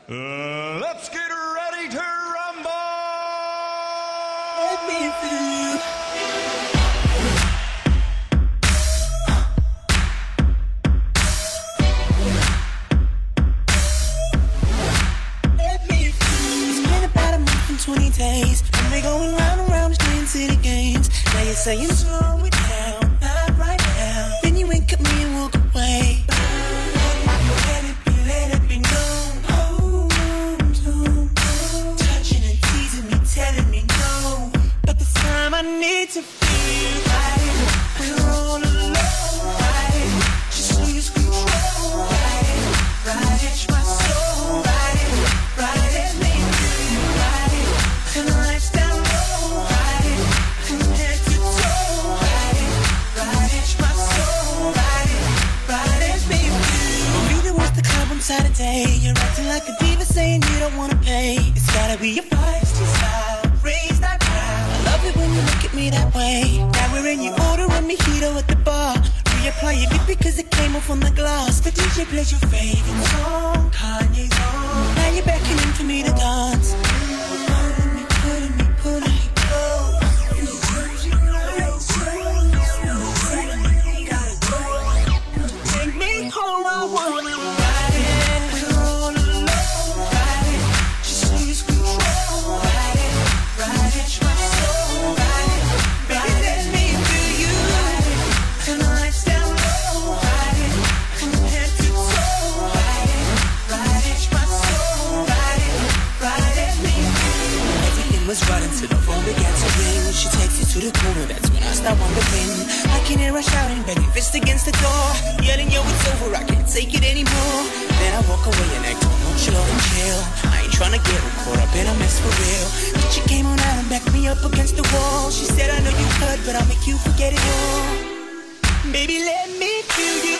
Let's get ready to rumble! Let me through. Let me through. It's been about a month and 20 days. And we're going round and round the Twin City games. Now you're saying slow it down, not right now. Then you wink at me and walk away. Let it be known. Touching and teasing me, telling me no. But this time I need to feel right. We're all alone, right? Just lose control, right? Right, it's my soul, right? Right, let me feel right. And the lights down low, right? From head to toe, right? Right, it's my soul, right? Right, let me feel. Really wants the club on Saturday. You're acting like a diva saying you don't wanna pay. It's gotta be your feisty style. Raise that crowd. I love it when you look at me that way. Now we're in your order and mojito at the bar. Reapply your lip because it came off on the glass. The DJ plays your favorite song, Kanye's on. Now you're beckoning for me to dance. Pulling me close. Take me home, I wanna ride it. We're all alone, ride it. Just lose control, ride it. Ride it, my soul, ride it. Baby, let me feel you, ride it. And the lights down low, ride it. From head to toe, ride it. Ride it, my soul, ride it. Ride it, me. Everything was right until the phone began to ring. She takes you to the corner, that's when I start wondering. I can hear her shouting, banging fist against the door. Yelling, yo, it's over, I can't take it anymore. Then I walk away and act nonchalant and chill. I ain't tryna get her caught up in a mess for real. But she came on out and backed me up against the wall. She said, I know you hurt, but I'll make you forget it all. Baby, let me feel you.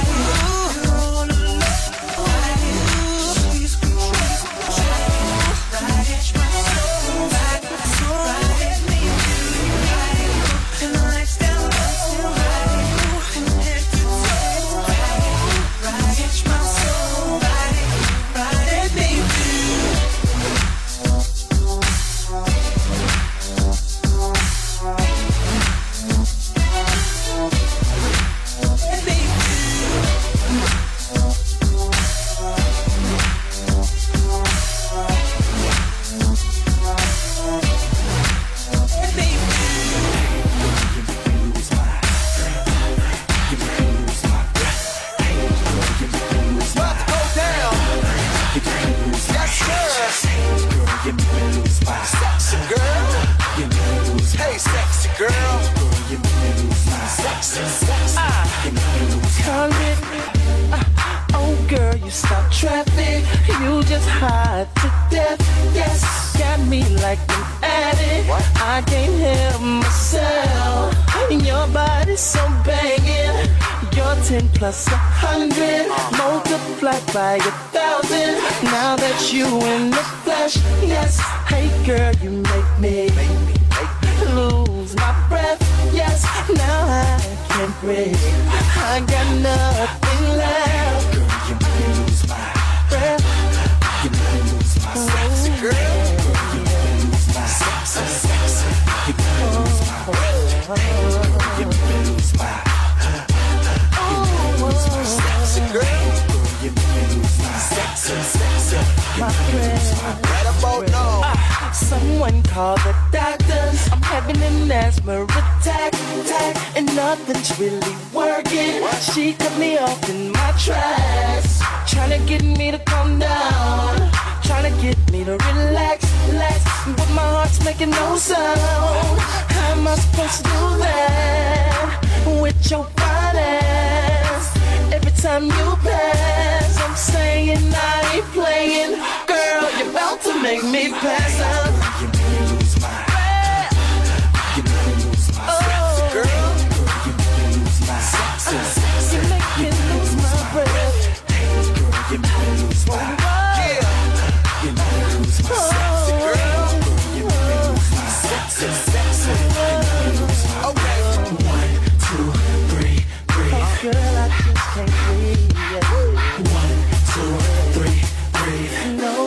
Plus 100, multiplied by 1,000. Now that you in the flesh, yes. Hey girl, you make me lose my breath. Yes, now I can't breathe. I got nothing left. Girl, you make me lose my breath. You make me lose my sexy girl. Girl, you make me lose my sexy. You make me lose my breath. Girl, you make me lose my sexy girl, you make me lose my sexy. My friend, right about now. Someone call the doctors. I'm having an asthma attack, and nothing's really working. She cut me off in my tracks, trying to get me to calm down, trying to get me to relax, but my heart's making no sound. How am I supposed to do that with your fine ass? Every time you pass, I'm saying I ain't playing. Girl, you're about to make me pass out. You make me lose my breath. You make me lose my sexy girl. You make me lose my sexy. You make me lose my breath. Girl, you make me lose my yeah. You make me lose my sexy girl. You make me lose my sexy. Okay. 1, 2, 3, breathe. Oh, girl, I just can't breathe. 1, 2, 3, breathe. No.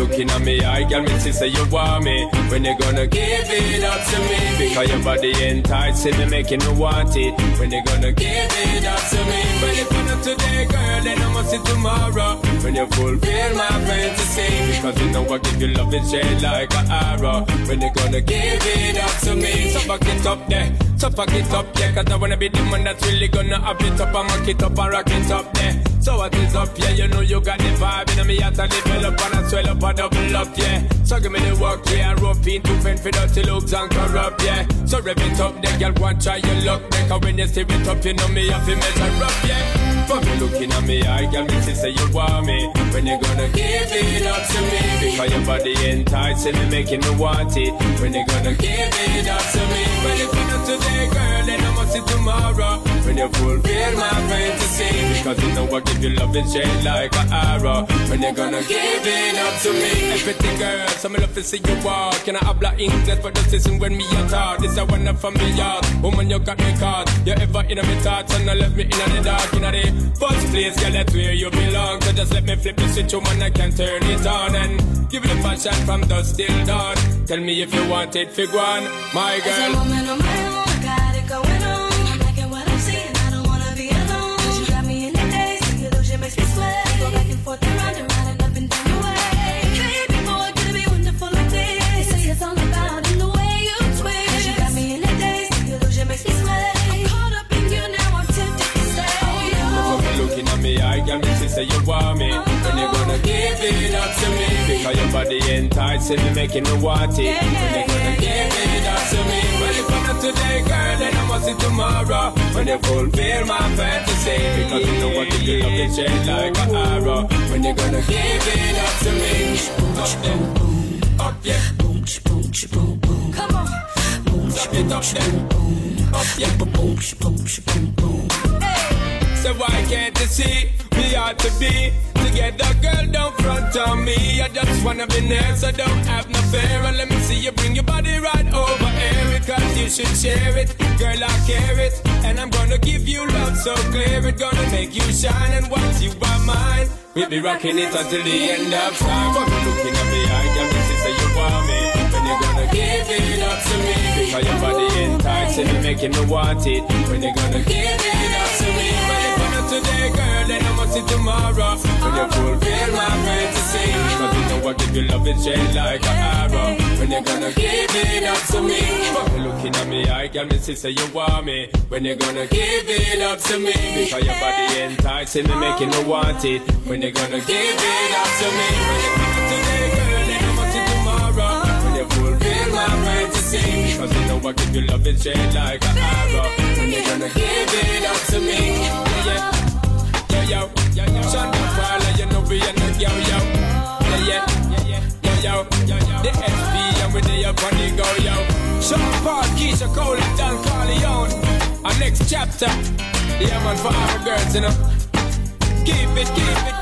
looking at me eye, girl, me see say you want me. When you gonna give it up to me? Because your body enticing me, making me want it. When you gonna give it up to me? When you gonna today, girl, then I must see tomorrow. When you fulfill my fantasy, because you know I give you love and shade like an arrow. When you gonna give it up to me? So back it up there, so back it up, yeah. Cause I wanna be the man that's really gonna have it up and mock it up and rock it up there. So what is up, yeah, you know you got the vibe. And me at a level up and I swell up and double up, yeah. So give me the work, yeah. Rope into pen for dirty looks and corrupt, yeah. So rev it up, there, girl, go and try your luck. Cause when you steer it up, you know me have to measure up, yeah. For me looking at me eye, girl, me see say you want me. When you gonna give it up to me? Because your body enticing me, making me want it. When you gonna give it up to me? When you gonna today, girl, then I must see tomorrow. When you fulfill my fantasy, because you know I give you love and shade like an arrow. When you gonna give it up to me? Everything, girl, so me love to see you walk. Can I habla English for the season when me a talk? This a one from me yard. Woman, you got me caught. You ever in my thoughts and I left me in the dark, in the first place, girl, that's where you belong. So just let me flip the switch, woman, I can turn it on and give you the passion from dusk till dawn. Tell me if you want it, fig one, my girl. As a woman on my own, I got it going on. I'm liking what I'm seeing, I don't wanna be alone. Cause you got me in the days, the illusion makes me sweat. Go back and forth and round and up and down your way. Baby boy, could it be wonderful like this? They say it's all about in the way you twist. Cause you got me in the days, the illusion makes me sweat. I'm caught up in you now, I'm tempted to stay. Looking at me, I can see say you want me. When you gonna give it up to me? Because your body enticing me, making me want it. When you gonna give it up to me? When you gonna today, girl, then I must see tomorrow. When you fulfill my fantasy, because you know I give you love and shade like an arrow. When you gonna give it up to me? Up there, up yeah, boom, boom, boom, boom. Come on, boom, stop it up there, up yeah, boom, boom, boom, boom. So why can't you see we ought to be together, girl, don't front on me. I just wanna be near, so don't have no fear. And let me see you bring your body right over here, because you should share it, girl, I care it. And I'm gonna give you love so clear, it's gonna make you shine. And once you are mine, we'll be rocking it until the end of time. But you're looking at me, I can see say you want me. When you're gonna give it up to me? Because your body enticing me, making me want it. When you're gonna give it up to me? Today, girl, then I must see tomorrow. When you fulfill my fantasy, because you know I give you love and shade like an arrow. When you gonna give it up to me? But looking at me, I can see say you want me. When you gonna give it up to me? Because your body enticing me, making me want it. When you gonna give it up to me? When you gonna today, girl, then I must see tomorrow. When you fulfill my fantasy, because you know I give you love and shade like an arrow. When you gonna give it up to me? Yeah. Yo, Shonda Paula, you know we are not yo. Yeah. The SB and we there up on the go, yo. Sean Paul, Keisha Cole and Don Corleone. Our next chapter, yeah man, for our girls, you know. Keep it,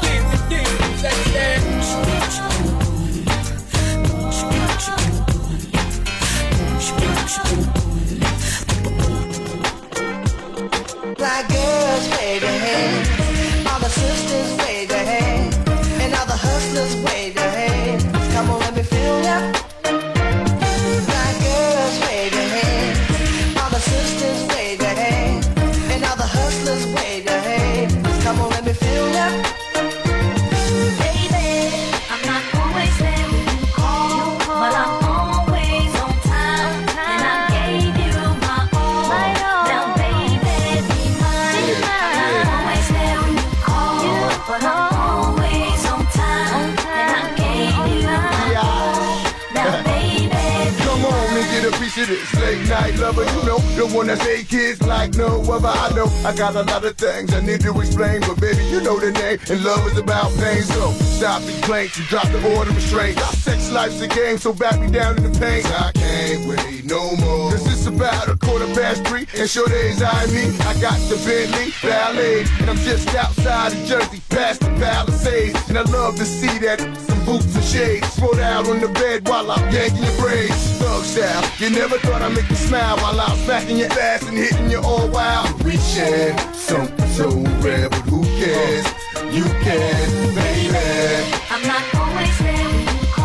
Black girls, wave your hand. All the sisters, wave your hand. And all the hustlers, wave your hand. Come on, let me feel ya. Black girls, wave your hand. All the sisters, wave your hand. And all the hustlers, wave your hand. Come on, let me feel ya. Baby, I'm not always there when you call, but I'm always on time. And I gave you my all. Now, baby, be mine. I'm not always there when you call, but I'm always on time. And I gave you my all. Now, baby, come on and get a piece of this late night lover, you know, the one that say kids like no other. I know I got a lot of things I need to explain, but baby, you know the name, and love is about pain. So stop the complaints and drop the order of restraint. Our sex life's a game, so back me down in the pain. I can't wait no more, cause it's about 3:15, and sure days I mean, I got the Bentley Ballet, and I'm just outside of Jersey, past the Palisades, and I love to see that some boots and shades, throw down on the bed while I'm yanking your braids. Thug style, you never thought I'd make you smile while I'm smacking your ass and hitting you all wild. We share something so rare, but who cares? You can, baby. I'm not always there when you call.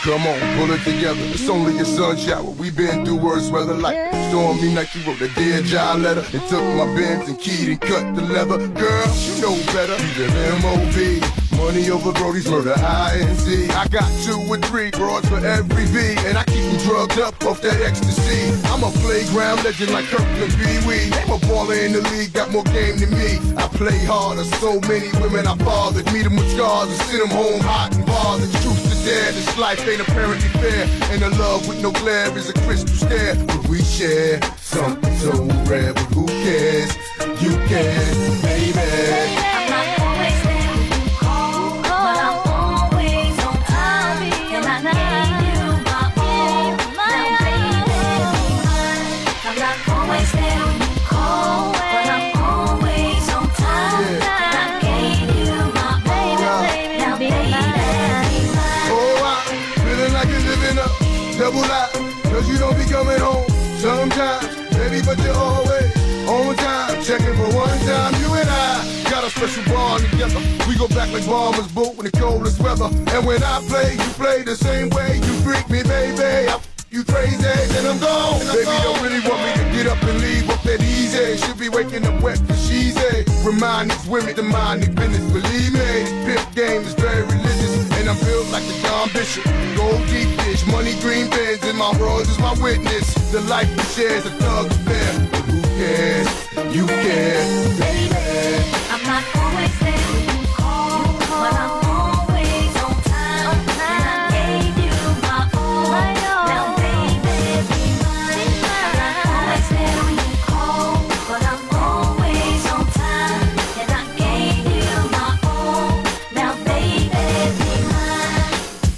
Come on, pull it together. It's only a sun shower. We been through worse weather like stormy night. You wrote a Dear John letter and took my Benz and keyed and cut the leather. Girl, you know better. You live M.O.B. Money over Brody's murder, I.N.C. I got 2 or 3 broads for every V, and I keep them drugged up off that ecstasy. I'm a playground legend like Kirkland Pee Wee. I'm a baller in the league, got more game than me. I play harder, so many women I fathered. Meet them with scars and send them home hot and bothered. Truth to dare, this life ain't apparently fair. And the love with no glare is a crystal stare. But we share something so rare, but who cares? You can, baby. I'm not always there when you call, but I'm always on time. And I gave you my all. Now, baby, be mine. I'm not always there when you call, but I'm always on time. And I gave you my all. Now, baby, be mine. Oh, I'm feeling like you're living up, double life, cause you don't be coming home sometimes, baby, but you're always on time. Checking for one time, you and I got a special bond together. We go back like bombers boat in the coldest weather. And when I play, you play the same way. You freak me, baby, you crazy, then I'm gone. Baby, don't really want me to get up and leave up that easy. Should be waking up wet cause she's a. Remind these women to mind their business. Believe me, this pimp game is very religious. And I'm built like the John Bishop. Gold deep dish, money green bins, and my bros is my witness. The life we share is a thug affair. But who cares? You care, baby. I'm not always there when you call, but I'm always on time. And I gave you my all. Now, baby, be mine. I'm not always there when you call, but I'm always on time. And I gave you my all. Now, baby, be mine.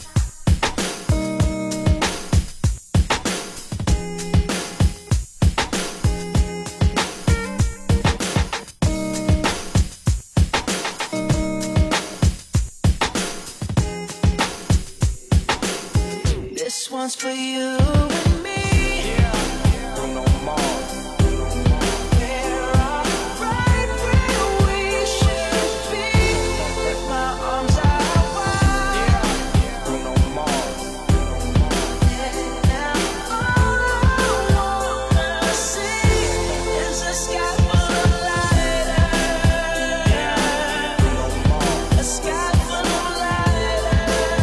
This one's for you and me. Bruno Mars. We're right where we should be. My arms are wide. Bruno Mars. And all I wanna see is a sky full of lighters. A sky full of lighters.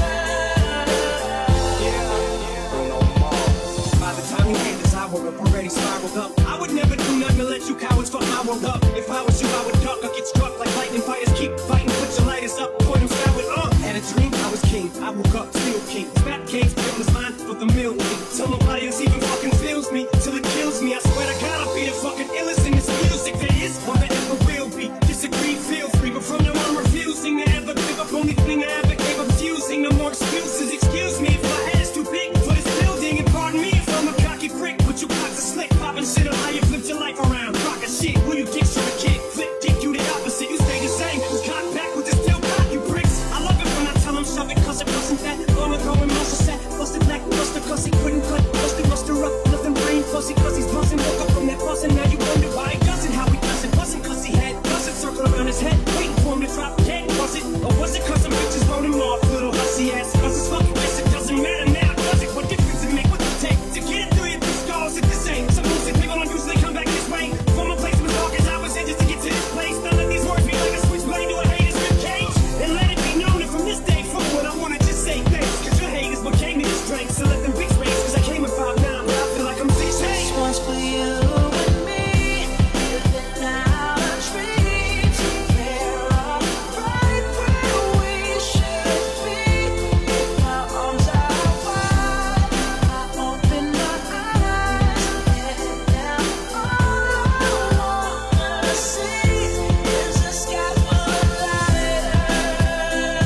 Bruno Mars. By the time you hit this hour, I'm already spiraled up. I would never do nothing to let you cowards fuck my world up. If I was you, I would duck or get struck like lightning. Fighters keep fighting, put your lighters up, point them skyward up. Had a dream, I was king, I woke up, still king. Snap games, business line for the million. Till nobody else even fucking feels me, till it kills me. I swear to God, I'll be the fucking illest in this music. There is one that ever will be. Disagree, feel free, but from now on, I'm refusing to ever give up. Only thing I ever gave up, fusing. No more excuses. Excuse me if my head is too big for this building, and pardon me if I'm a cocky prick. But you got to slick, popping shit on how you flipped your life around. Rockin' shit, when you get short a kick, flip dick, you the opposite. You stay the same, just cock back with this still cock, you pricks. I love it when I tell them shove it, cause it wasn't that. Gonna go and muscle set, busted black, busted cause he couldn't cut, busted muster up, nothing brain fuzzy cause he's buzzing. Woke up from that buzzing, now you wonder why he doesn't, how he does it. Wasn't cause he had buzzing circle around his head, waiting for him to drop dead. Was it, or was it cause some bitches wrote him off, little hussy ass? Cause it's fucking bitch, it doesn't matter now, does it? What difference it make, what it take to get it through your skulls? It's the same, some music people don't usually come back this way. From a place was dark as I was in just to get to this place. None of these words be like a switchblade to a hater's ribcage. And let it be known that from this day forward, I wanna just say thanks. Cause your haters what came to this strength. So let them bitch race, cause I came at 5'9", but I feel like I'm 6'8". This one's for you and me. Living out our dreams. We're right where we should be. My arms are wide. I open my eyes. And now all I wanna see is a sky full of lighters.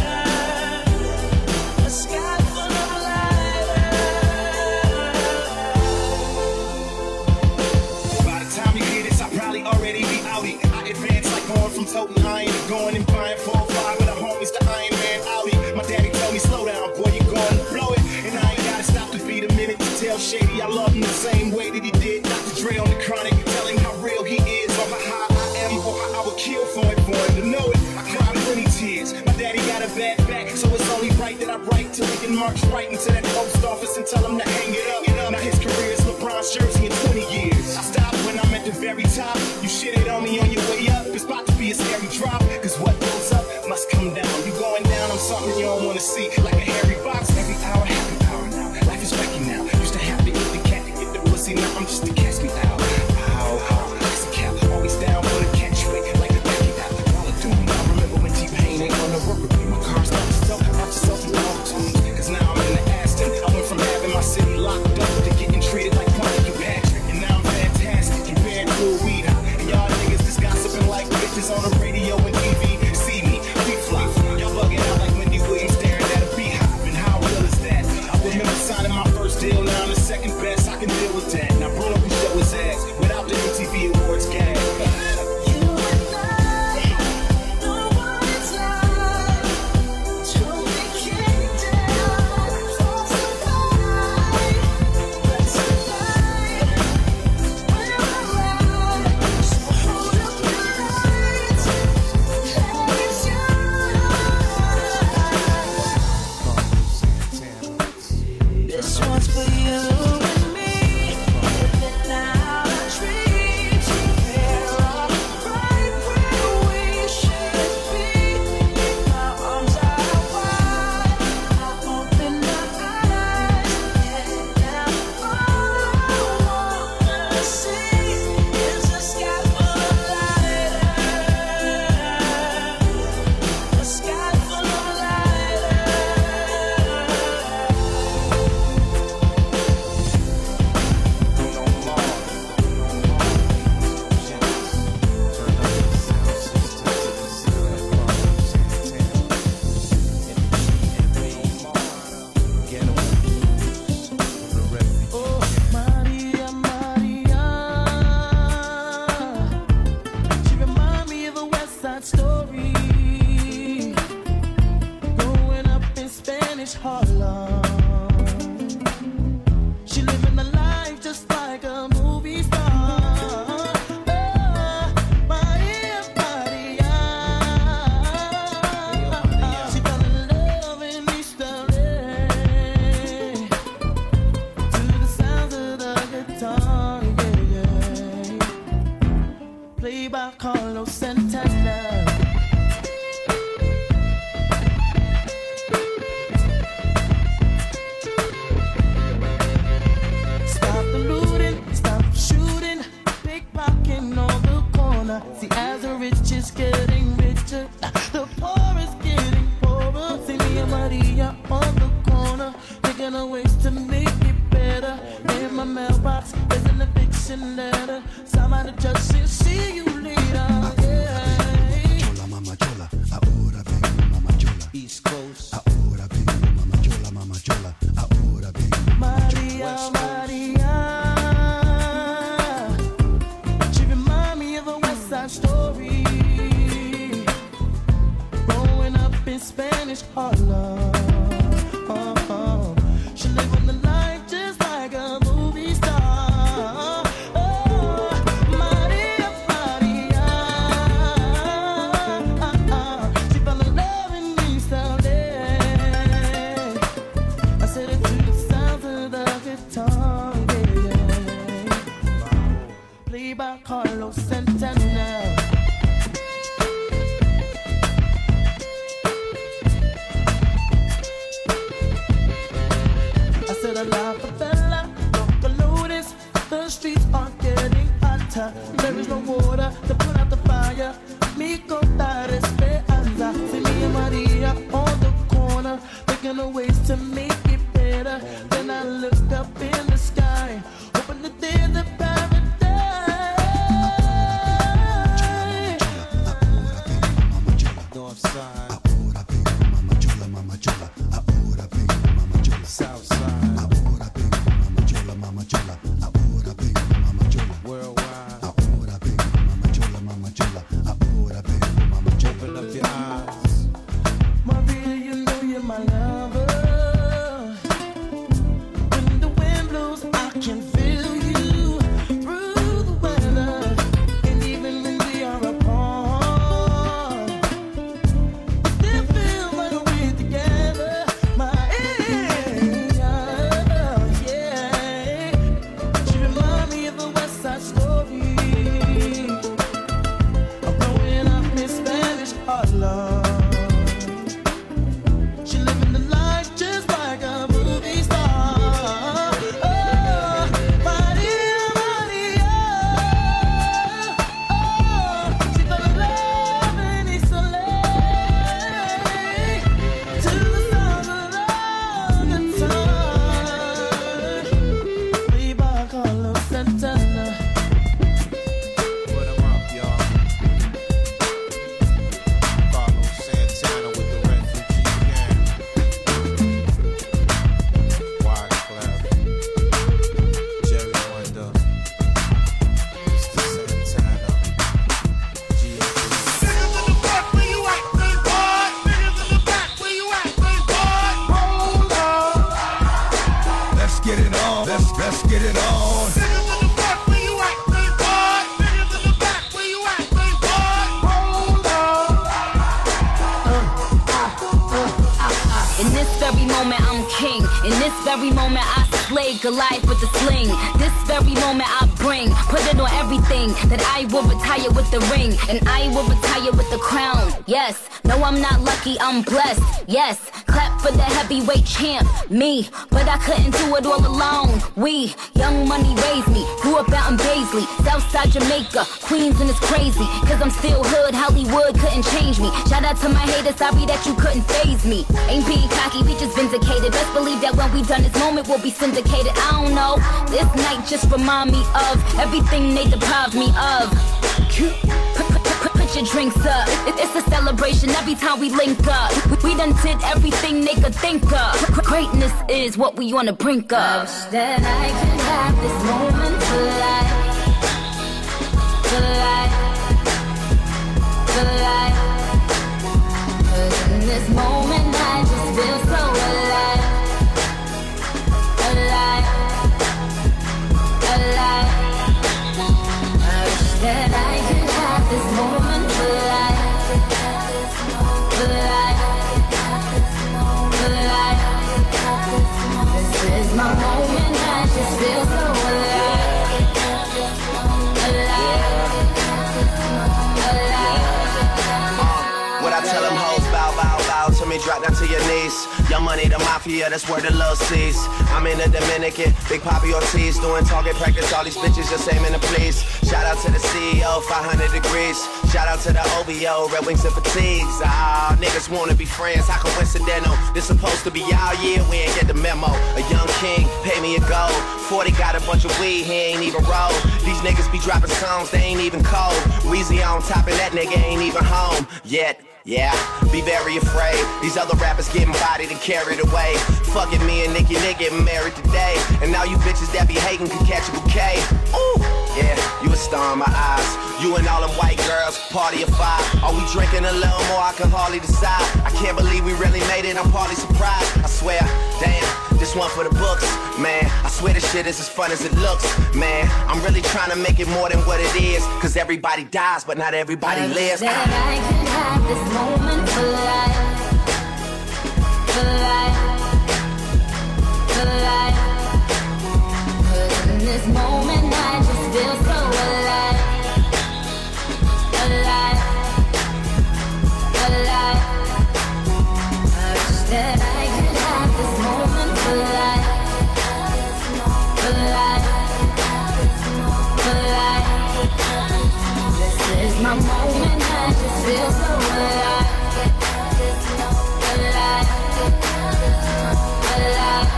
A sky full of lighters. By the time you hear this, I'll probably already be outie. I advance like going from toting iron to going and buying 4-5 with the homies, the Iron Man Audi. My daddy told me, slow down, boy, you going to blow it. And I ain't gotta stop to beat a minute to tell Shady I love him the same way that he did Dr. Dre on the Chronic. Tell him how real he is, or how I am, or how I would kill for him to know it. I cried plenty tears. My daddy got a bad back, so it's only right that I write till he can mark march right into that post office and tell him to hang it up. Now his career is LeBron's jersey in 20 years. I stopped when I'm at the very top. You shitted on me on your way up. It's about to be a scary drop. Cause what goes up must come down. You going down on something you don't wanna see. Like a hairy box, every hour, happy hour now. Life is wacky now. Used to have to eat the cat to get the pussy. Now I'm just a catch me out. Ow, that's a cap. Always down for the catch weight. Like a backy out. All I do, I remember when T-Pain ain't gonna work with me. My car's not to sell. I bought yourself some auto-tunes. Cause now I'm in the Aston. I went from having my city locked up to getting treated like Funky Patrick. And now I'm fantastic compared to a weed hop. And y'all niggas just gossiping like bitches on the radio and TV. See me, flip-flop. Y'all bugging out like Wendy Williams staring at a beehive. And how real is that? I remember signing my first deal. Now I'm the second best. I can deal with that. Now Bruno can show his ass without the MTV Awards gag. This one's for you and me. Living out a dream together, right where we should be. My arms are wide, I open my eyes, and all I wanna see is a sky full of light, a sky full of light. Oh, Maria, Maria, she remind me of a West Side Story, growing up in Spanish Harlem. She living a life just like a movie star. Oh, Maria, Maria, she fell in love in East LA. To the sounds of the guitar, yeah, yeah. Played by Carlos Santana. Stop the looting, stop shooting, pickpocketing on the corner. See, as the rich is getting richer, the poor is getting poorer. See me and Maria on the corner, thinking of ways to make it better. In my mailbox, there's an eviction letter. Somebody just said, see you later. Yeah. Chola, mama chola, ahora vengo, mama chola. East Coast. Ahora vengo, mama chola, mama chola. Ahora vengo, mama chola. Maria, Maria, she remind me of a West Side Story, growing up in Spanish Harlem. She living the life just like a movie star. Oh, Maria, Maria, she fell in love in East LA. I said it to the sounds of the guitar, yeah. Played by Carlos Santana. I said a la favela, no colores. The streets are getting hotter. There is no water to put out the fire. Mi contar esperanza. See me and Maria on the corner, thinking of ways to make it better. Then I look up in the sky, hoping that there's a paradise. Northside. Ahora vengo, mama chola, mama chola. Ahora vengo, mama chola. Southside. Ahora vengo, mama chola, mama chola. Ahora vengo, mama chola. Worldwide. Ahora vengo, mama chola, mama chola. Ahora vengo, mama chola. Open up your eyes. Maria, you know you're my lover. moment I'm king. In this very moment I slay Goliath with the sling. This very moment I bring, put it on everything. That I will retire with the ring, and I will retire with the crown. Yes, no I'm not lucky, I'm blessed. Yes, clap for the heavyweight champ, me. But I couldn't do it all alone. We, Young Money raised me, grew up out in Baisley, Southside Jamaica, Queens, and it's crazy. Cause I'm still hood, Hollywood couldn't change me. Shout out to my haters, sorry that you couldn't faze me. Ain't being cocky, we just vindicated. Best believe that when we done this moment we'll be syndicated. I don't know, this night just remind me of everything they deprived me of. Put your drinks up, it's a celebration every time we link up. We done did everything they could think of. Greatness is what we on the brink of. I wish that I could have this moment for life. For life. For life. Cause in this moment I just feel so alive. Alive. Alive. I wish that I could have this moment for life. For life. For life. This is my moment, I just feel so alive. Alive. Alive. What I tell them hoes, bow, bow, bow to me, drop down to your knees. Young Money, the mafia, that's where the love sees. I'm in the Dominican, Big Papi Ortiz, doing target practice, all these bitches just aiming to please. Shout out to the CEO, 500 degrees. Shout out to the OVO, Red Wings and Fatigues. Ah, niggas wanna be friends, how coincidental. This supposed to be our year, we ain't get the memo. A young king, pay me a gold. 40 got a bunch of weed, he ain't even roll. These niggas be dropping songs, they ain't even cold. Weezy on top and that nigga ain't even home yet. Yeah, be very afraid. These other rappers getting bodied and carried away. Fucking me and Nicki getting married today. And now you bitches that be hating can catch a bouquet. Ooh, yeah, you a star in my eyes. You and all them white girls, party of 5. Are we drinking a little more? I can hardly decide. I can't believe we really made it, I'm partly surprised. I swear, damn, this one for the books. Man, I swear this shit is as fun as it looks. Man, I'm really trying to make it more than what it is. Cause everybody dies, but not everybody lives. That I could have this moment for life. For life. For life. Cause in this moment I just feel so alive. Alive. Alive. I wish that I could have this moment for life. For life. For life. This is my moment, I just feel so alive. Alive. Alive.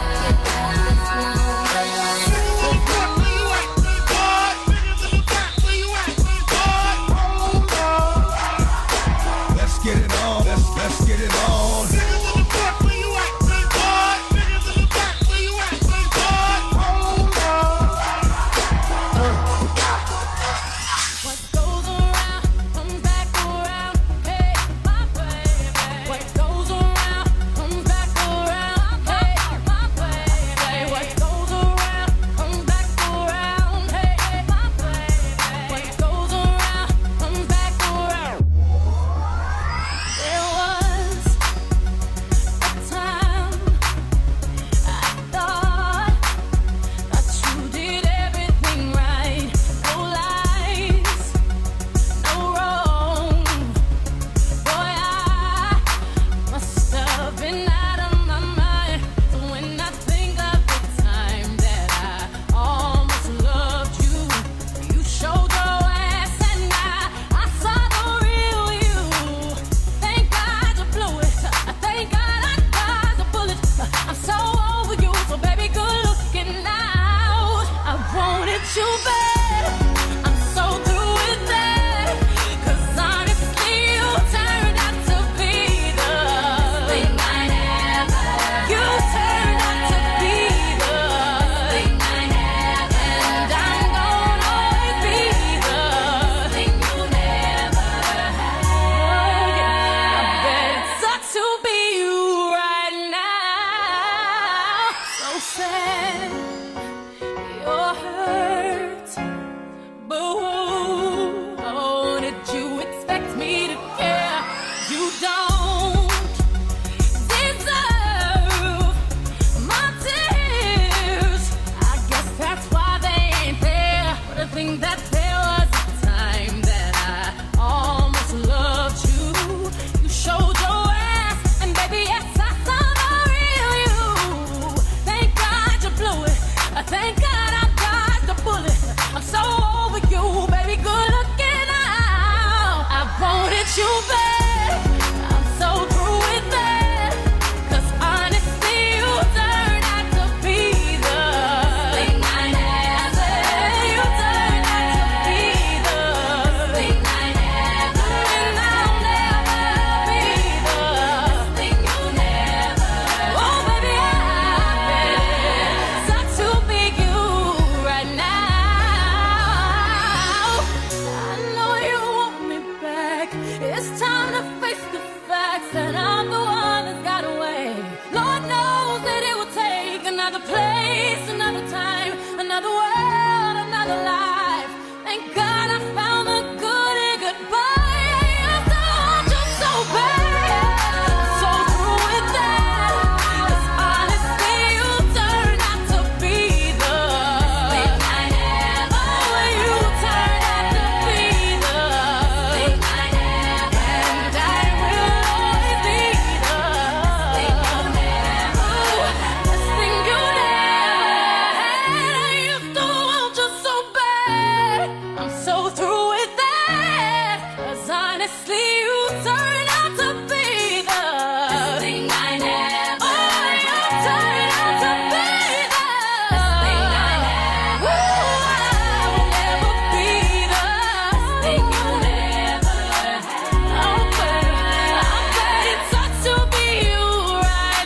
Let's get it on. Let's get it on. face the facts that I'm the one that's got away. Lord knows that it will take another place, another time, another world, another life. Thank God I found the good in goodbye. I used to want you so bad, so through with that. 'Cause honestly, you turned out to be the thing I never. Oh, you turned out to be the thing I never. And I will always be the thing you never. This thing you never. I used to want you so bad. I'm so through with that. 'Cause honestly, you turned out to be the thing I never. Oh, you turned out to be the thing I never. I will never be the thing you never had. I'm glad it sucks to be you right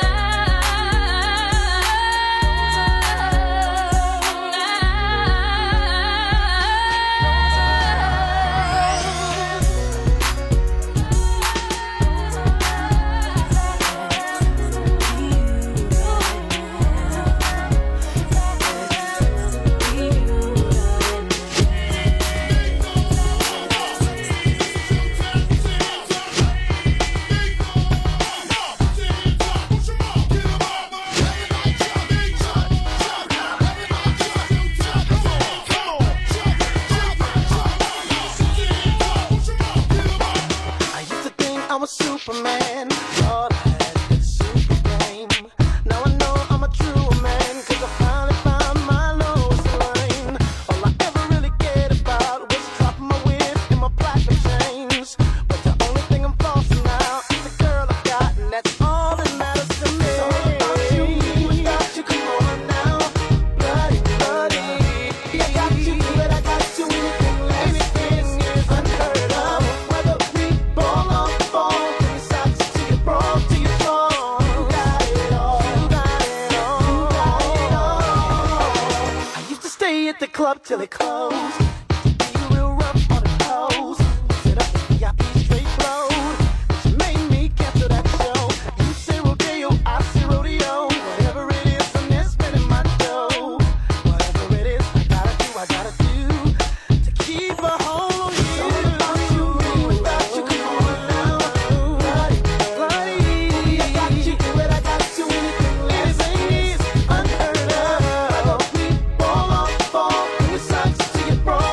I used to think I was Superman. Thought I had this super game. Now I know I'm a true man. 'Cause I finally found my lowest line. All I ever really cared about was dropping my whip and my platinum chains. But the only thing I'm flossing now is the girl I got, and that's all that matters to me. It's all about you, without you, come on now. Bloody, bloody. I got you, but I got you. Anything is unheard of. Whether we ball or fall, from your socks to your bra to your thong. You got it all. You got it all. You got it all. I used to stay at the club till it closed. Used to be real rough on the toes. Sit up at VIP straight road. She made me cancel that show. You say rodeo, I say rodeo. Whatever it is, I'm there spending my dough. Whatever it is, I gotta do to keep a hold on you. It's all about you, without you, come on now. Bloody, bloody. I got you, but I got you. Anything is unheard of. Whether we ball or fall, from your socks to your bra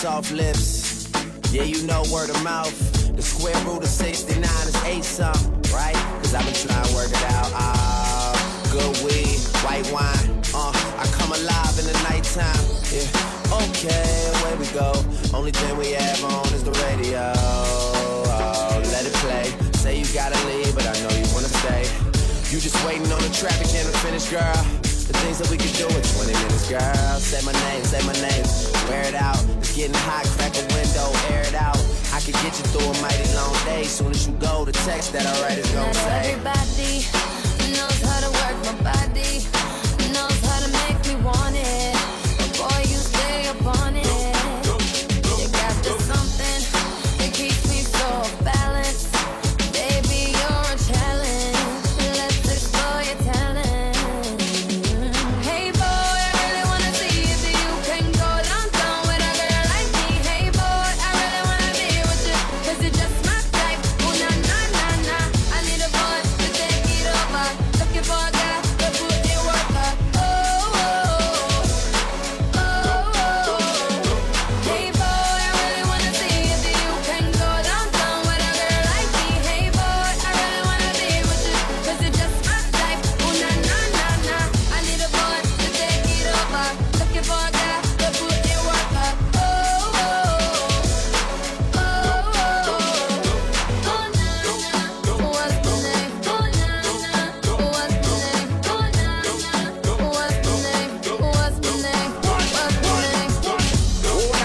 soft lips. Yeah, you know word of mouth. The square root of 69 is 8 something, right? Cause I've been trying to work it out. Good weed, white wine. I come alive in the nighttime. Yeah, okay, away we go. Only thing we have on is the radio. Oh, let it play. Say you gotta leave, but I know you wanna stay. You just waiting on the traffic jam to finish, girl. The things that we could do in 20 minutes, girl. Say my name, wear it out. It's getting hot, crack a window, air it out. I could get you through a mighty long day. Soon as you go, the text that I write is gonna say. Everybody knows how to work my body, knows how to make me want it. But boy, you stay up on it. You got this something that keeps me so balanced. Baby, you're a challenge. Let's explore your talent. Hey boy, I really wanna see if you can go downtown with a girl like me. Hey boy, I really wanna be with you, cause you're just my type. Oh na na na na, I need a boy to take it over. Looking for a guy to put in work up. Oh, oh, oh, oh. Hey boy, I really wanna see if you can go downtown with a girl like me. Hey boy, I really wanna be with you, cause you're just my type. Oh na na na na, I need a boy to take it over. Looking for a guy to put in work up. Oh, oh, oh, oh, oh na na, what's the name? Oh na na, what's the name? Oh na na, what's the name? What's the name? What's the name?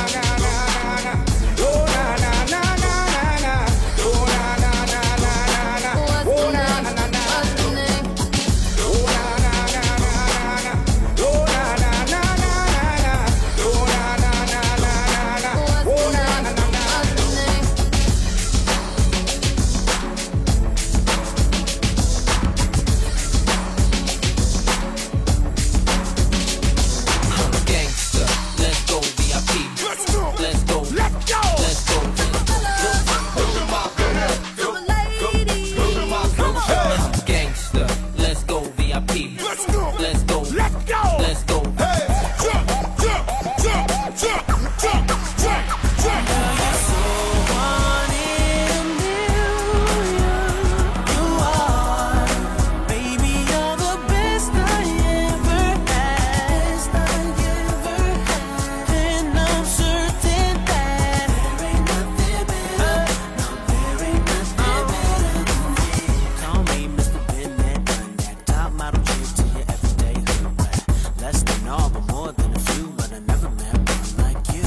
What's the name? What's the name? Gangsta, let's go VIP. Let's go. Let's go. Let's go. Gangsta, let's go VIP. Let's go. Let's go. Let's go. Let's go. Baby, you're the best I ever had. And I'm certain that there ain't nothing better. There ain't nothing better than me. Call me Mr. Been there, done that. Top model chick to you every day. Less than all, but more than a few. But I never met one like you.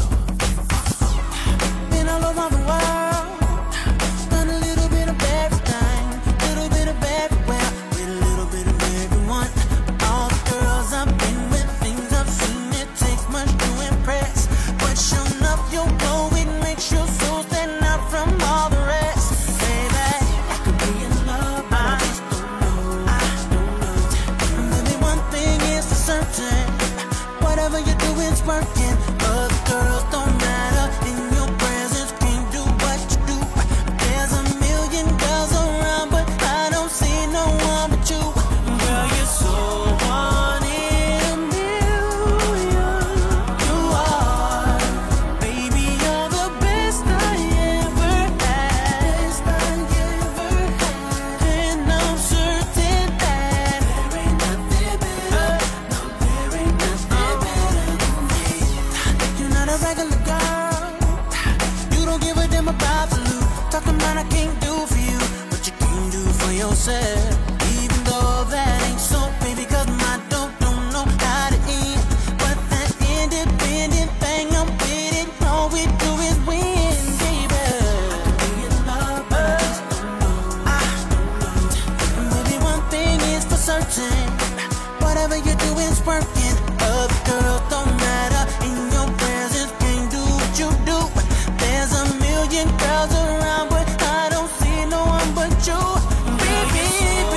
Been all over the world. Done a little bit of everything, little bit of everywhere, with a little bit of everyone. All the girls I've been with, things I've seen, it takes much to impress. But showing up your glow, it makes you so stand out from all the rest. Baby, I could be in love, but I just don't know. I don't know. Maybe one thing is for certain, whatever you do is working. Other girls don't matter, in your presence can't do what you do. There's a million girls around, but I don't see no one but you. Girl, you're so one in a million. You are, baby, you're the best I ever had. And I'm certain that there ain't nothing better. No, there ain't nothing better than me. You're not a regular girl. You don't give a damn about the loot. Talking about I can't do for you what you can do for yourself. Even though that ain't so, baby, cause my dope don't know how to end. But that independent thing, I'm with it. All we do is win, baby. I could be in love, but I just don't know. I don't know. Maybe one thing is for certain, whatever you do is working. Other girls don't matter, in your presence can't do what you do. There's a million girls around, but I don't see no one but you. Baby,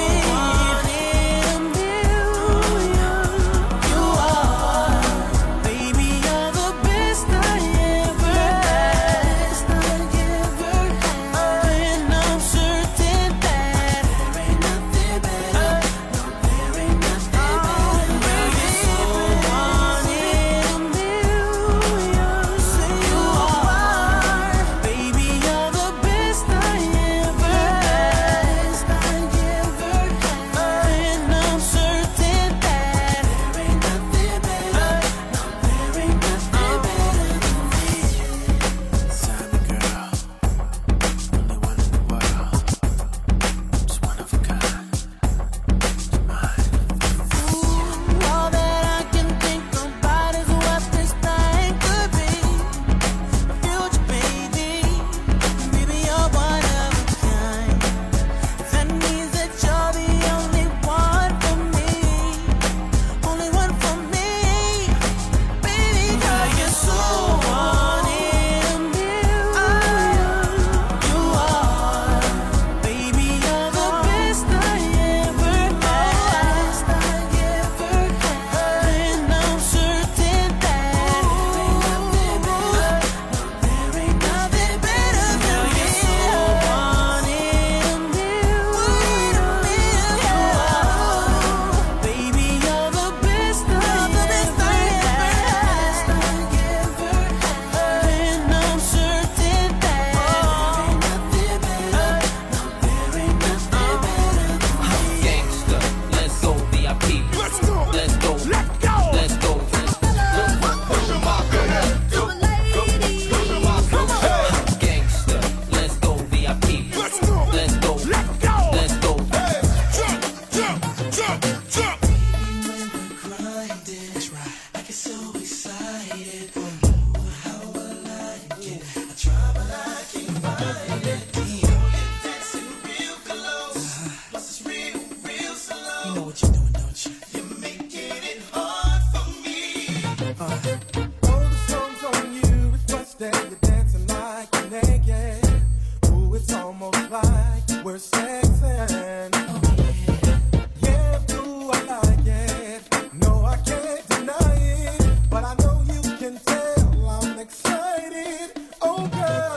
almost like we're sexing. Yeah, do I like it? No, I can't deny it, but I know you can tell I'm excited. Oh, girl.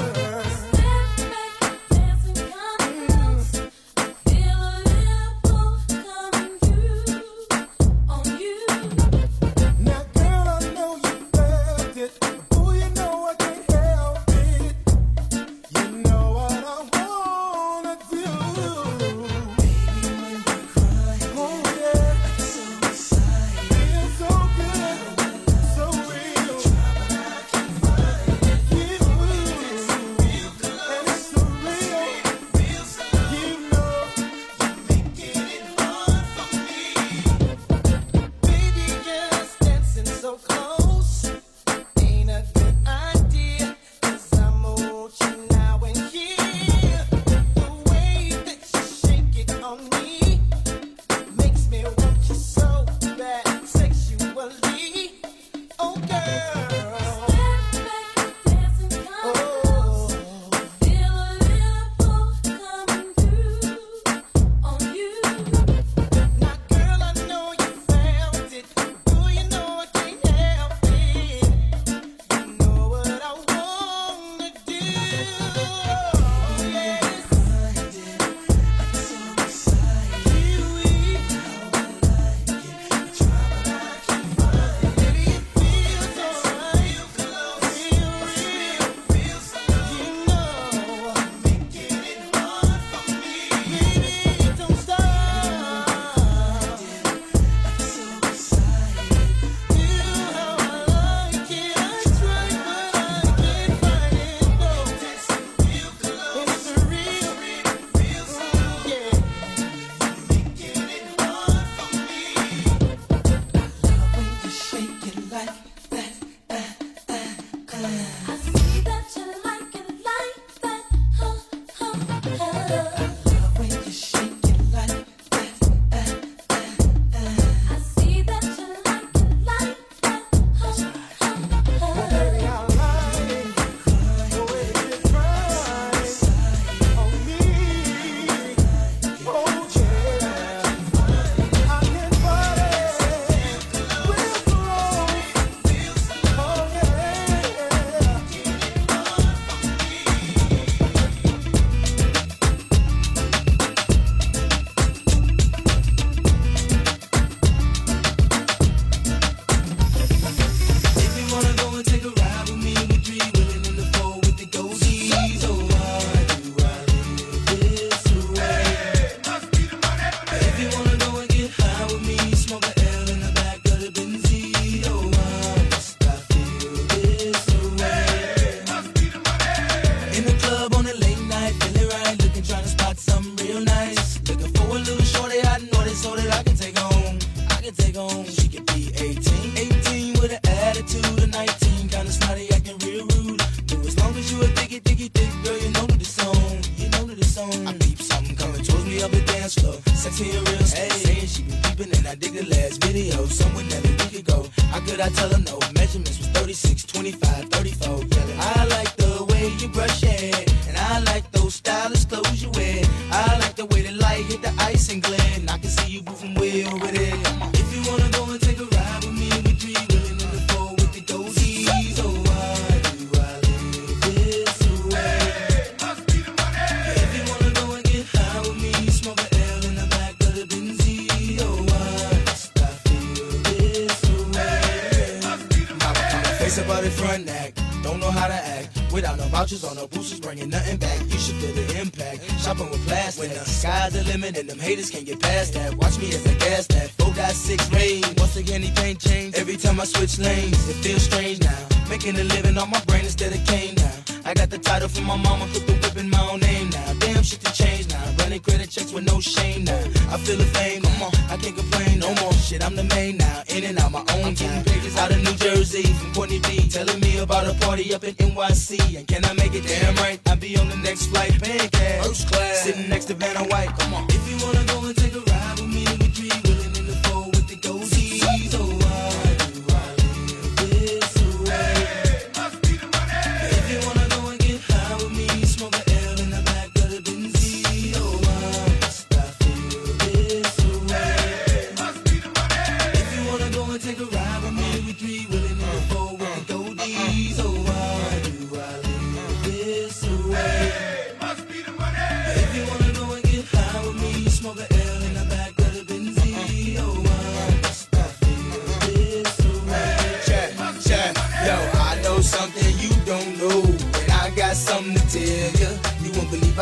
And them haters can't get past that. Watch me as I gas that 4.6 range. Once again, he paint change. Every time I switch lanes, it feels strange now. Making a living on my brain instead of cane now. I got the title from my mama, put the whip in my own name now. Damn shit to change now. Running credit checks with no shame now. I feel the fame, come on, I can't complain no more. Shit, I'm the main now. In and out my own time. Pages out of New Jersey from Courtney B. Telling me about a party up in NYC. And can I make it damn right? I'll be on the next flight, paying cash. First class. Sitting next to Vanna White, come on. If you wanna go and take a ride with me, we three willing in the four with the goatees. Oh, why do I live this way? If you wanna go and get high with me, smoke a L in the back of the Benz.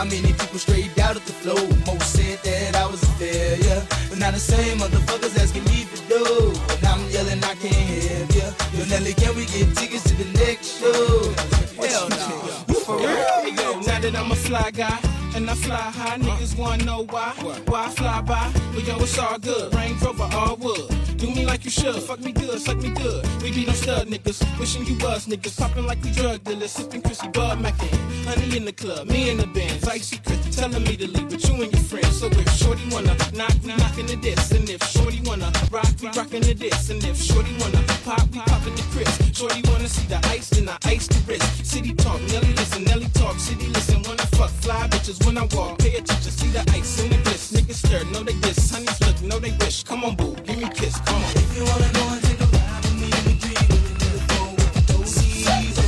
many people straight out of the flow. Most said that I was a failure, but now the same motherfuckers asking me for dough. And I'm yelling, I can't help ya. Yo, Nelly, can we get tickets to the next show? Hell no. You for real? Hey, yo, now that I'm a fly guy and I fly high, niggas wanna know why I fly by. But yo, it's all good. Range Rover, all wood. Do me like you should. Fuck me good, suck me good. We be them stud niggas. Wishing you was niggas. Popping like we drug dealers. Sipping Chrissy Bud Mackin. Honey in the club, me in the Benz. Icy Chris telling me to leave with you and your friends. So if Shorty wanna knock, we knockin' the diss. And if Shorty wanna rock, we rockin' the diss. And if Shorty wanna pop, we poppin' the Chris. Shorty wanna see the ice, then I ice the wrist. City talk, Nelly listen, Nelly talk. City listen, wanna fuck fly bitches when I walk. Pay attention, see the ice in the bliss. Niggas stir, know they diss. Honeys look, know they wish. Come on, boo, give me a kiss. Come on. If you wanna go and take a ride with me, we dream with a nigga phone with the dozies.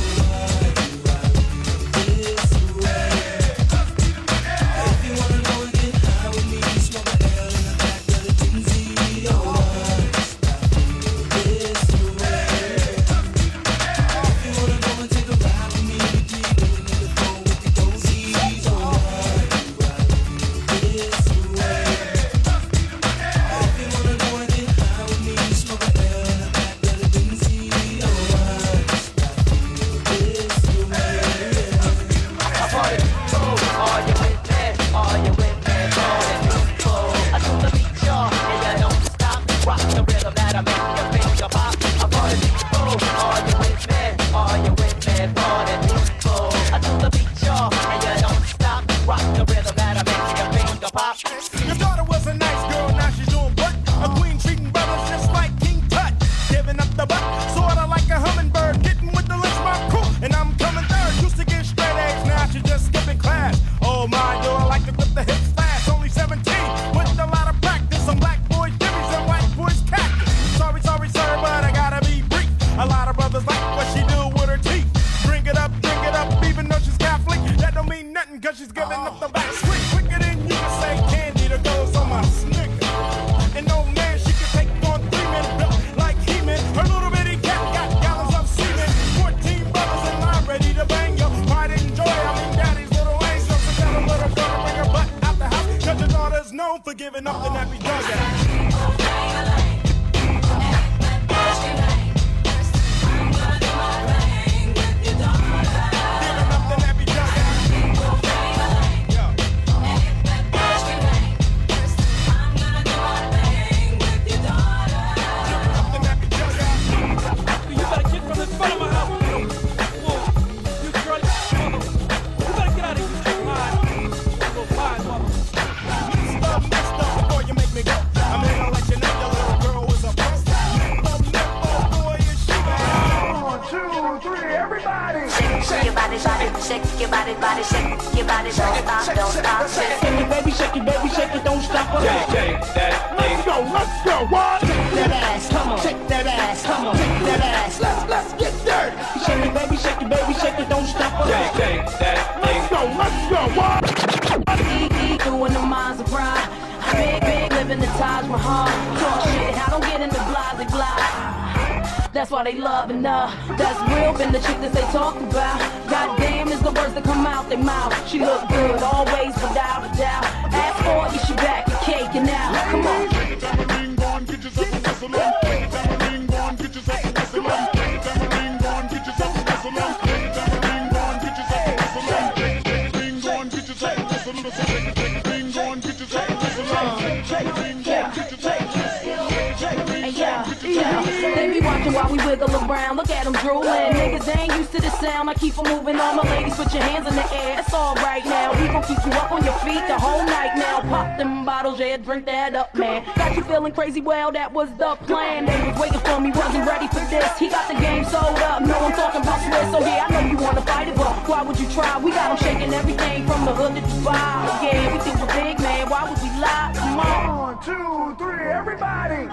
This way. If you wanna go and get high with me, smoke a L in the back of the Benzie. This way. If you wanna go and take a ride with me, we dream with a nigga phone with the dozies. This way. If you wanna go and get high with me, smoke a L in the back of the Benzie. Are you with me? Are you with me? I do the beat, y'all, and you don't stop. Rock the rhythm that I make your finger pop. I party people. Are you with me? Are you with me? Party people. I do the beat, y'all, and you don't stop. Rock the rhythm that I make your finger pop. Your daughter was a nice girl, now she's doing what? A queen treating brothers just like King Tut. Giving up the butt, sorta like a hummingbird. Getting with the lynch mob crew, and I'm coming third. Used to get straight A's, now she's just skipping class. Oh my, yo, I like to whip the hips fast. Only 17, with a lot of practice. Some black boys jimmies and white boys cactus. Sorry, sir, but I gotta be brief. A lot of brothers like what she do with her teeth. Drink it up, even though she's Catholic. That don't mean nothing, cause she's giving up the back street. Quicker than you can say candy, the girls on my snicker. And no man, she can take on 3-minute built like He-Man. Her little bitty cat got gallons of semen. 14 brothers in line ready to bang yo. Pride and joy, I mean daddy's little angel. So tell her little girl to bring her butt out the house. Cause your daughter's known for giving up the nappy dog out. Shake your body, shake your body, shake your body, don't stop, shake it, baby, shake it, don't stop. Shake that thing. Let's go, what? Shake that ass, come on, shake that ass, come on, shake that ass, let's get dirty. Shake it, baby, shake it, don't stop. Shake that thing. Let's go, what? Doing the minds of rhyme. Big, living the Taj Mahal. Talk shit, I don't get into blah. That's why they loving her. That's real, been the chick that they talk about. Goddamn is the words that come out their mouth. She look good, always without a doubt. Ask for it, she back and caking out. Come on. They be watching while we wiggle around. Look at them drooling. Niggas ain't used to the sound. I keep them moving on. My ladies, put your hands in the air. It's all right now. We gon' keep you up on your feet the whole night now. Pop them bottles, yeah, drink that up, man. Got you feeling crazy? Well, that was the plan. They was waiting for me, wasn't ready for this. He got the game sold up. No, I'm talking about Swiss. So yeah, I know you wanna fight it, but why would you try? We got them shaking everything from the hood to Dubai. Yeah, we think we're big, man. Why would we lie? Come on. 1, 2, 3, everybody.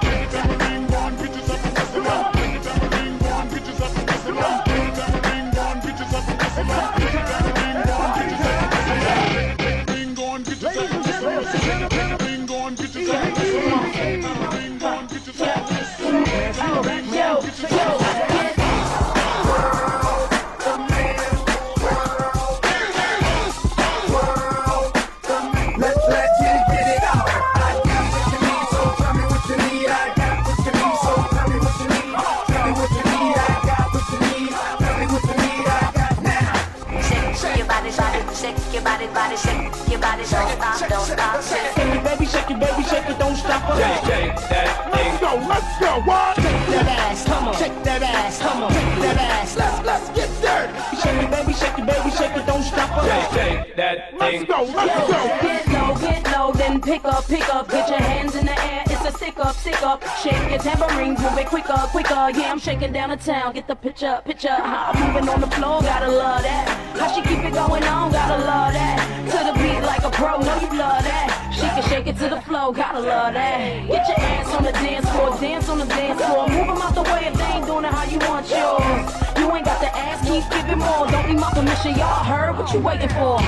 ass. Come on, shake that ass. Let's get dirty. Shake it, baby, shake it, don't stop us. Shake that thing. Let's go. Get low, then pick up. Get your hands in the air, it's a stick up. Shake your tambourines, move it quicker. Yeah, I'm shaking down the town, get the picture. How I'm moving on the floor, gotta love that. How she keep it going on, gotta love that. To the beat like a pro, know you love that. She can shake it to the flow, gotta love that. Get your ass on the dance floor, dance on the dance floor. Move them out the way if they ain't doing it how you want yours. You ain't got to ask, keep giving more. Don't need my permission, y'all heard what you waiting for.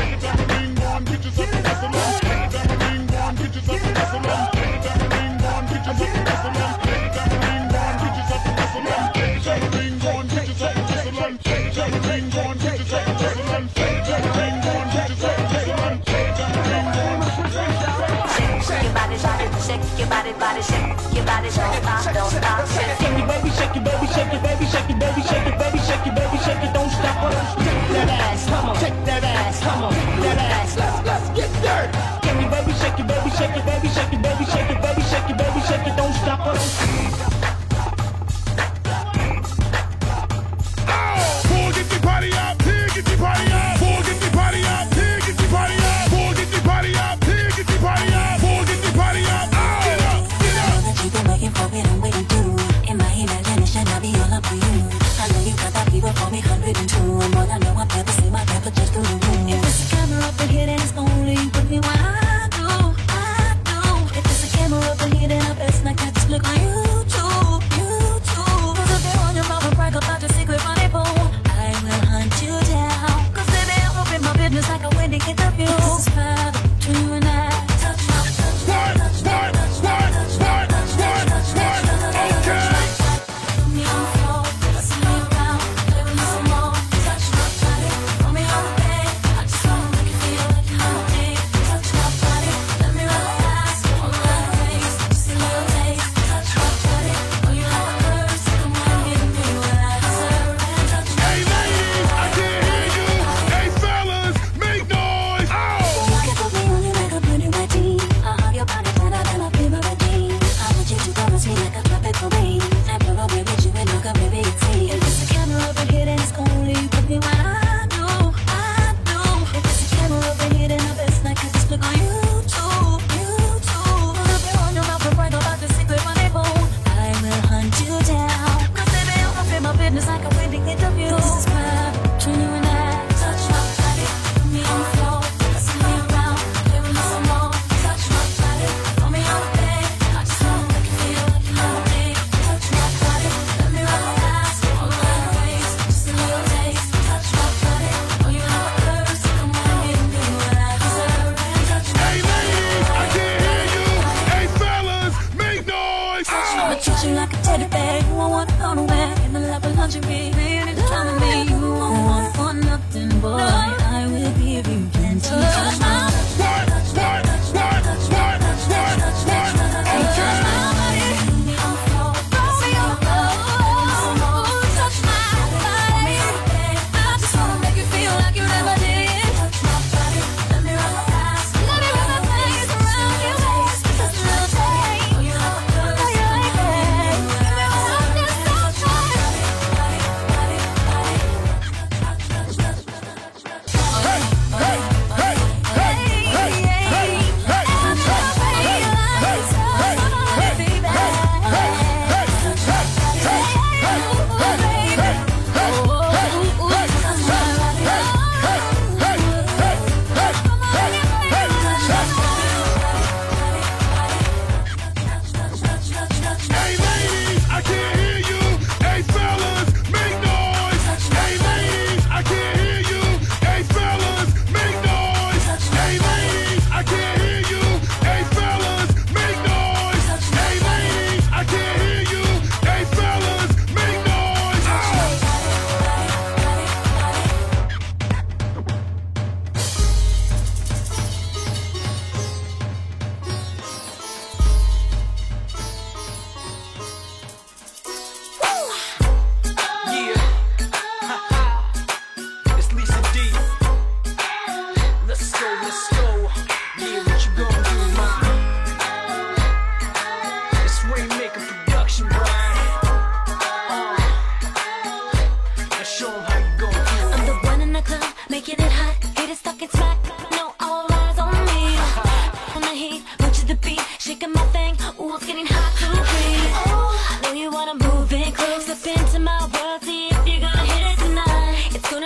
Shake your body, shake your body, don't stop. Shake it, baby, shake it, baby, shake it, baby, shake it, baby, shake it, baby, shake it, baby, shake it, don't stop. Shake that ass, come on, shake that ass, come on, shake that ass. Let's get dirty. Shake it, baby, shake it, baby, shake it, baby, shake it, baby, shake it, baby, shake it, baby, shake it, don't stop. Pull, get the party up, here, get the party up. Pull, get the party up, here, get the party up. Pull, get the party up, here, get the party up. Pull, get the party up. Get up. You've been waiting for it, I'm waiting too. In my imagination, I'll be all up for you. I know you got that people for me 102. And more I know, I've never seen my pepper just through the room. If there's a camera up in here, then it's only with me what I do. If there's a camera up in here, then I best not catch this look on YouTube. Cause if they're on your mouth and brag about your secret rendezvous, I will hunt you down. Cause baby, I'm up in my business like a wedding interview. This is private between you and I. Touch my, touch my, touch my, touch my.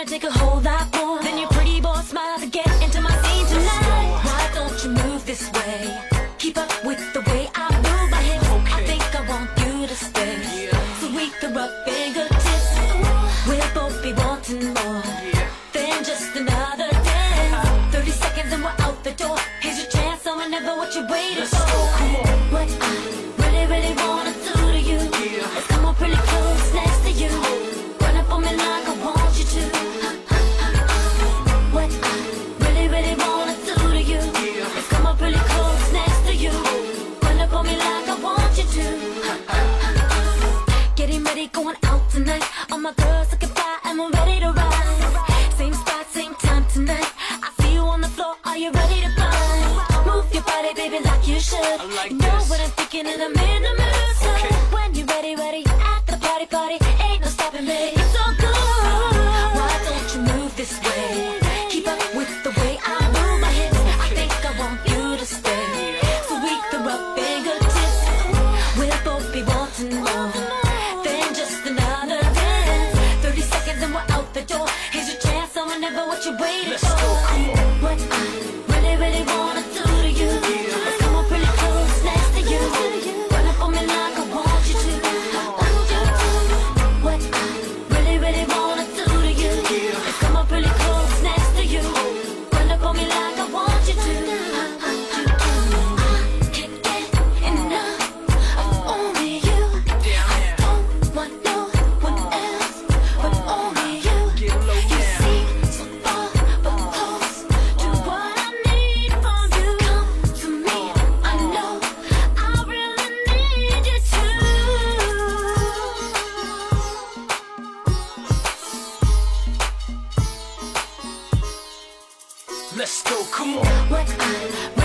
wanna take a whole lot more than your pretty boy smile to get into my scene tonight. Why don't you move this way? Keep up with the way I move my hips. I think I want you to stay, so we can rub fingertips. We'll both be wanting more than just another dance. 30 seconds and we're out the door. Here's your chance, so whenever what you waiting for. What I really, really wanna do to you is come up really close next to you. Run up on me like I want you to. What I really, really wanna do to you is come up really close next to you. Run up on me like I want you to. Getting ready, going out tonight. All my girls looking fly and we're ready to ride. Same spot, same time tonight. I see you on the floor, are you ready to fight? Move your body, baby, like you should. You know what I'm thinking and I'm in the mood. So when you're ready, ready, at the party, party, ain't no stopping me. It's all good. Why don't you move this way? Keep up with the way I move my hips. I think I want you to stay, so we can rub fingertips. We'll both be wanting more than just another dance. 30 seconds and we're out the door. Here's your chance, so whenever what you waiting for. What I really, really wanna do to you is come up really close next to you. Run up on me like I want you to. What I really, really wanna do to you is come up really close next to you. Run up on me like I want you to. I can't get enough of only you. I don't want no one else but only you. You seem so far but close to what I need from you. Come to me, I know I really need you to. Let's go, come on. What I